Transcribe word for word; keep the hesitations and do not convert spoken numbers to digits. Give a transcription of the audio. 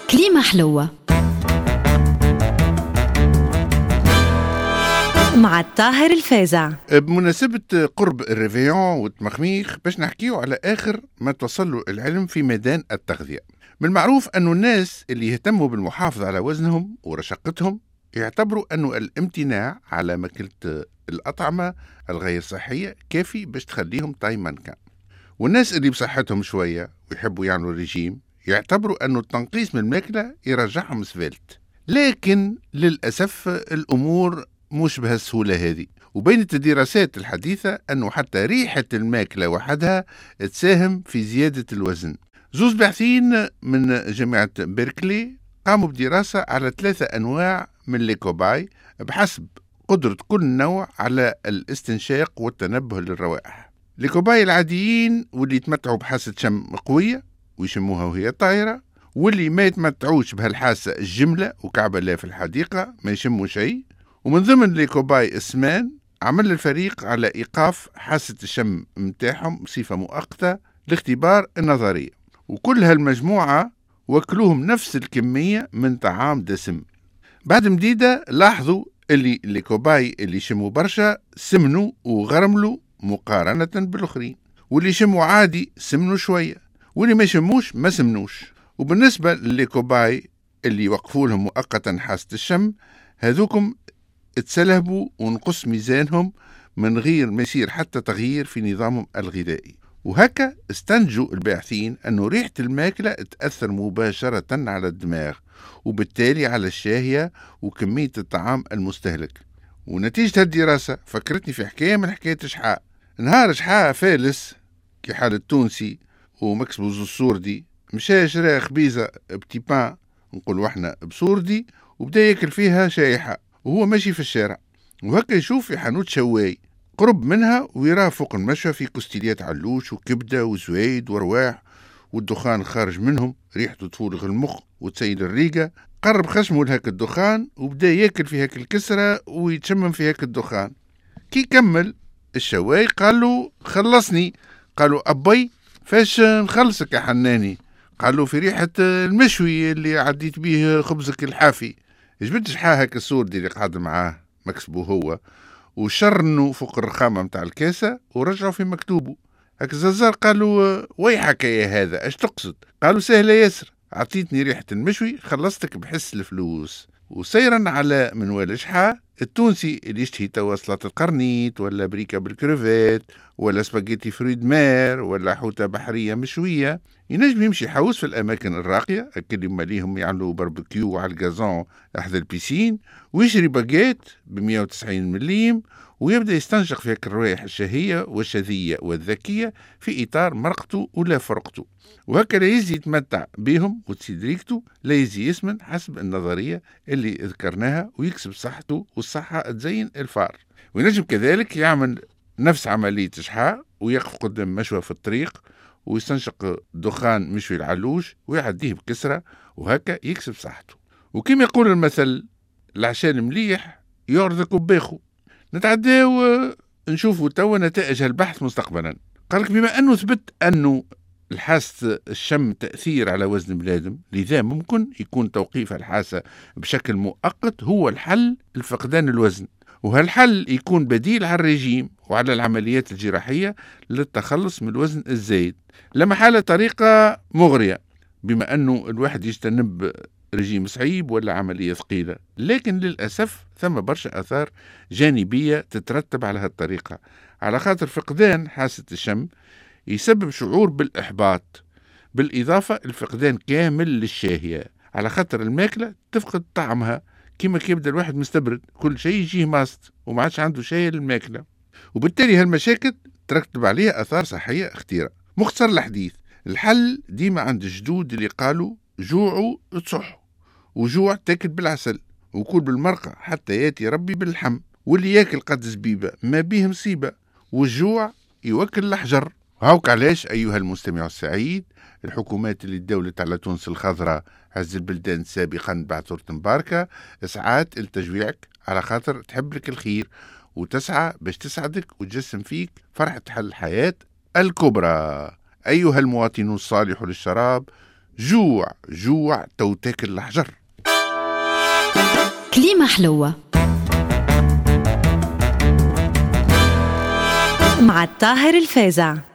كليمة حلوة مع الطاهر الفازع. بمناسبة قرب الريفيون والتمخميخ باش نحكيو على آخر ما توصل له العلم في ميدان التغذية. من المعروف أنه الناس اللي يهتموا بالمحافظة على وزنهم ورشاقتهم يعتبروا أنه الامتناع على ماكلة الأطعمة الغير صحية كافي باش تخليهم طاي مانكان. والناس اللي بصحتهم شوية ويحبوا يعملوا ريجيم يعتبروا أنه التنقيص من الماكلة يرجعهم سفلت. لكن للأسف الأمور مش بهالسهولة هذه، وبينت الدراسات الحديثة أنه حتى ريحة الماكلة وحدها تساهم في زيادة الوزن. زوز باحثين من جامعة بيركلي قاموا بدراسة على ثلاثة أنواع من ليكوباي بحسب قدرة كل نوع على الاستنشاق والتنبه للروائح. ليكوباي العاديين واللي يتمتعوا بحاسة شم قوية ويشموها وهي طايرة، واللي ما يتمتعوش بهالحاسة الجملة وكعبة لا في الحديقة ما يشموا شيء. ومن ضمن ليكوباي اسمان عمل الفريق على إيقاف حاسة الشم متاعهم بصفة مؤقتة لاختبار النظرية، وكل هالمجموعة وكلوهم نفس الكمية من طعام دسم. بعد مديدة لاحظوا اللي الليكوباي اللي شموا برشا سمنوا وغرملوا مقارنة بالآخرين، واللي شموا عادي سمنوا شوية، واللي ما شموش ما سمنوش. وبالنسبة للليكوباي اللي وقفوا لهم مؤقتا حاسة الشم، هذوكم اتسلهبوا ونقص ميزانهم من غير ما يصير حتى تغيير في نظامهم الغذائي. وهكا استنتجوا الباحثين أنه ريحة الماكلة تأثر مباشرة على الدماغ وبالتالي على الشهية وكمية الطعام المستهلك. ونتيجة الدراسة فكرتني في حكاية من حكاية شحاء. نهار شحاء فالس كي حال التونسي ومكسبوز السوردي مشى شرا خبيزة بتيبان نقولوا احنا بسوردي وبدأ ياكل فيها شايحة وهو ماشي في الشارع، وهكا يشوف في حانوت شواي قرب منها ويراه فوق المشى في كستيليات علوش وكبدة وزويد ورواح والدخان خارج منهم ريحته تفولغ المخ وتسيل الريقة. قرب خشمه لهاك الدخان وبدأ ياكل في هاك الكسرة ويتشمم في هاك الدخان. كي كمل الشواي قال له خلصني. قالوا أبي فاش نخلصك يا حناني؟ قالوا في ريحة المشوي اللي عديت به خبزك الحافي. جبت شحاه هاك السوردي اللي قاعد معاه مكسبه هو وشرنوا فوق الرخامة متاع الكاسة ورجعوا في مكتوبه. هاك الززار قالوا ويحك يا هذا اش تقصد؟ قالوا سهلة ياسر، عطيتني ريحة المشوي خلصتك بحس الفلوس. وسيرا على منوال شحاه التونسي اللي يشتهي توا سلطة القرنيط ولا بريكة بالكروفيت ولا سباجيتي فريد مير ولا حوتة بحرية مشوية ينجم يمشي حوس في الأماكن الراقية أكل يما ليهم يعملوا باربيكيو على الجازون أحد البيسين ويشري باجيت بمية وتسعين مليم ويبدأ يستنشق في هيك الروائح الشهية والشذية والذكية في إطار مرقته ولا فرقته. وهكا لا يزي يتمتع بهم وتسيدريكته لا يزي يسمن حسب النظرية اللي ذكرناها ويكسب صحته والصحة تزين الفار. وينجم كذلك يعمل نفس عملية شحاء ويقف قدام مشوى في الطريق ويستنشق دخان مشوي العلوش ويعديه بكسرة وهكا يكسب صحته. وكما يقول المثل العشان مليح يعرضك بباخو. نتعداو نشوفوا توا نتائج البحث مستقبلا. قالك بما أنه ثبت أنه الحاسة الشم تأثير على وزن بلادم، لذا ممكن يكون توقيف الحاسة بشكل مؤقت هو الحل لفقدان الوزن، وهالحل يكون بديل على الرجيم وعلى العمليات الجراحية للتخلص من الوزن الزايد. لما حالة طريقة مغرية بما أنه الواحد يجتنب رجيم صعيب ولا عملية ثقيلة، لكن للأسف ثم برشا أثار جانبية تترتب على هالطريقة، على خاطر فقدان حاسة الشم يسبب شعور بالإحباط بالإضافة لفقدان كامل للشهية، على خاطر الماكلة تفقد طعمها كما كيبدأ الواحد مستبرد كل شيء يجيه ماست وما عادش عنده شيء للماكلة، وبالتالي هالمشاكل ترتب عليها أثار صحية اختيرة. مختصر الحديث، الحل ديما عند الجدود اللي قالوا جوعوا تصحوا، وجوع تاكل بالعسل وكل بالمرقة حتى ياتي ربي باللحم، واللي ياكل قد زبيبة ما بيه مصيبة، والجوع يوكل الحجر. هاوك علاش أيها المستمع السعيد الحكومات اللي دولت على تونس الخضراء هز البلدان سابقا بعد ثورة مباركة ساعات التجويعك على خاطر تحب لك الخير وتسعى باش تسعدك وتجسم فيك فرحة حل الحياة الكبرى. أيها المواطن الصالح للشراب جوع جوع تو تاكل الحجر. كليمة حلوة مع الطاهر الفازع.